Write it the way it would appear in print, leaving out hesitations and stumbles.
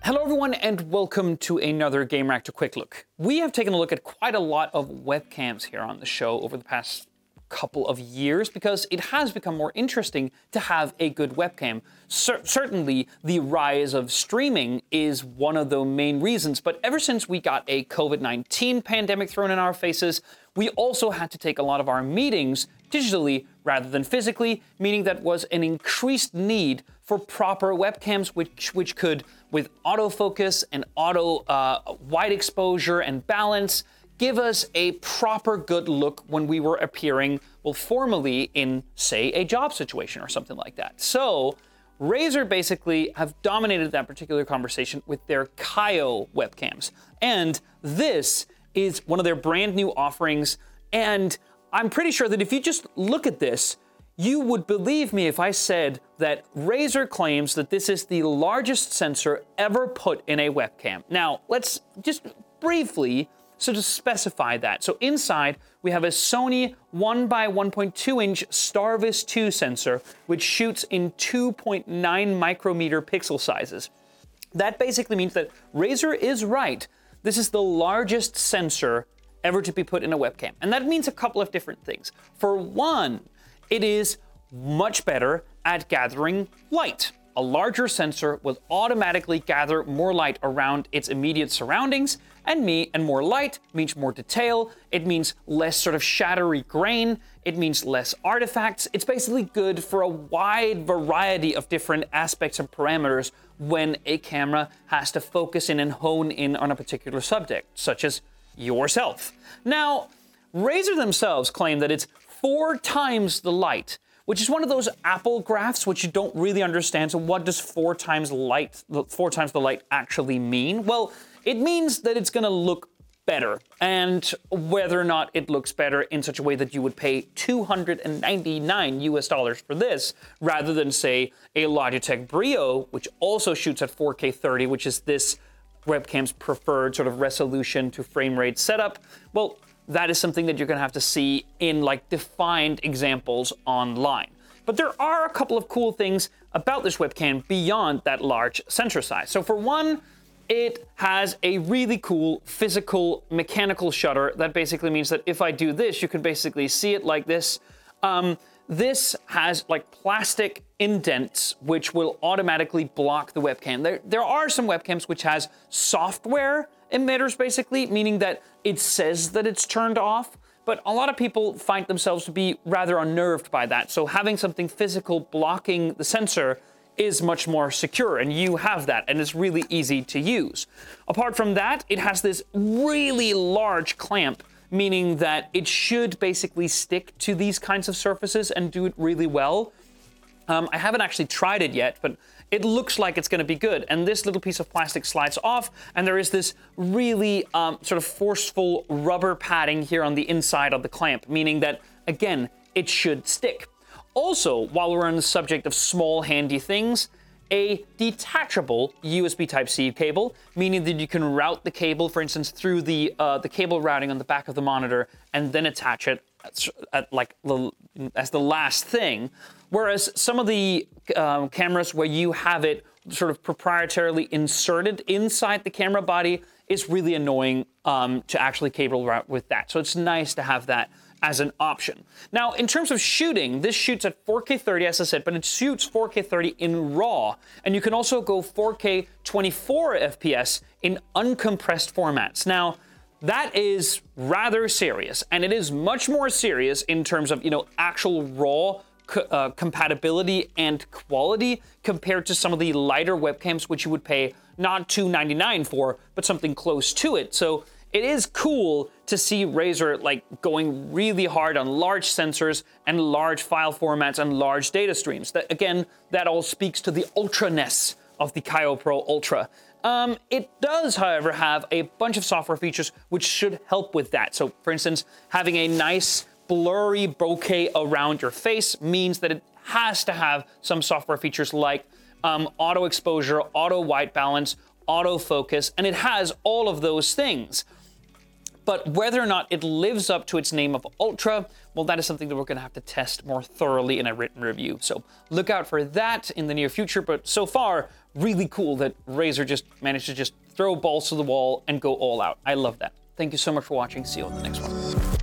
Hello everyone and welcome to another Gamereactor Quick Look. We have taken a look at quite a lot of webcams here on the show over the past couple of years because it has become more interesting to have a good webcam. Certainly the rise of streaming is one of the main reasons, but ever since we got a COVID-19 pandemic thrown in our faces, we also had to take a lot of our meetings digitally rather than physically, meaning that was an increased need for proper webcams which could, with autofocus and auto wide exposure and balance, give us a proper good look when we were appearing, well, formally in, say, a job situation or something like that. So Razer basically have dominated that particular conversation with their Kaio webcams. And this is one of their brand new offerings. And I'm pretty sure that if you just look at this, you would believe me if I said that Razer claims that this is the largest sensor ever put in a webcam. Now, let's just briefly to specify that. So inside, we have a Sony 1x1.2 inch Starvis 2 sensor, which shoots in 2.9 micrometer pixel sizes. That basically means that Razer is right. This is the largest sensor ever to be put in a webcam. And that means a couple of different things. For one, it is much better at gathering light. A larger sensor will automatically gather more light around its immediate surroundings, and more light means more detail. It means less sort of shattery grain. It means less artifacts. It's basically good for a wide variety of different aspects and parameters when a camera has to focus in and hone in on a particular subject, such as yourself. Now, Razer themselves claim that it's 4 times the light, which is one of those Apple graphs which you don't really understand. So what does 4 times the light actually mean? Well, it means that it's gonna look better, and whether or not it looks better in such a way that you would pay $299 for this, rather than say a Logitech Brio, which also shoots at 4K 30, which is this webcam's preferred sort of resolution to frame rate setup. Well, that is something that you're gonna have to see in like defined examples online. But there are a couple of cool things about this webcam beyond that large sensor size. So for one, it has a really cool physical mechanical shutter that basically means that if I do this, you can basically see it like this. This has like plastic indents which will automatically block the webcam. There are some webcams which has software emitters basically, meaning that it says that it's turned off, but a lot of people find themselves to be rather unnerved by that. So having something physical blocking the sensor is much more secure, and you have that, and it's really easy to use. Apart from that, it has this really large clamp, meaning that it should basically stick to these kinds of surfaces and do it really well. I haven't actually tried it yet, but it looks like it's going to be good. And this little piece of plastic slides off, and there is this really sort of forceful rubber padding here on the inside of the clamp, meaning that, again, it should stick. Also, while we're on the subject of small, handy things, a detachable USB Type-C cable, meaning that you can route the cable, for instance, through the cable routing on the back of the monitor, and then attach it as the last thing. Whereas some of the cameras where you have it sort of proprietarily inserted inside the camera body is really annoying to actually cable route with that. So it's nice to have that as an option. Now, in terms of shooting, this shoots at 4K 30, as I said, but it shoots 4K 30 in RAW, and you can also go 4K 24 FPS in uncompressed formats. Now, that is rather serious, and it is much more serious in terms of, actual RAW compatibility and quality compared to some of the lighter webcams, which you would pay not $299 for, but something close to it. So it is cool to see Razer going really hard on large sensors and large file formats and large data streams. That all speaks to the ultra-ness of the Kaio Pro Ultra. It does, however, have a bunch of software features which should help with that. So, for instance, having a nice blurry bokeh around your face means that it has to have some software features like auto exposure, auto white balance, autofocus, and it has all of those things. But whether or not it lives up to its name of Ultra, well, that is something that we're going to have to test more thoroughly in a written review. So look out for that in the near future. But so far, really cool that Razer just managed to just throw balls to the wall and go all out. I love that. Thank you so much for watching. See you on the next one.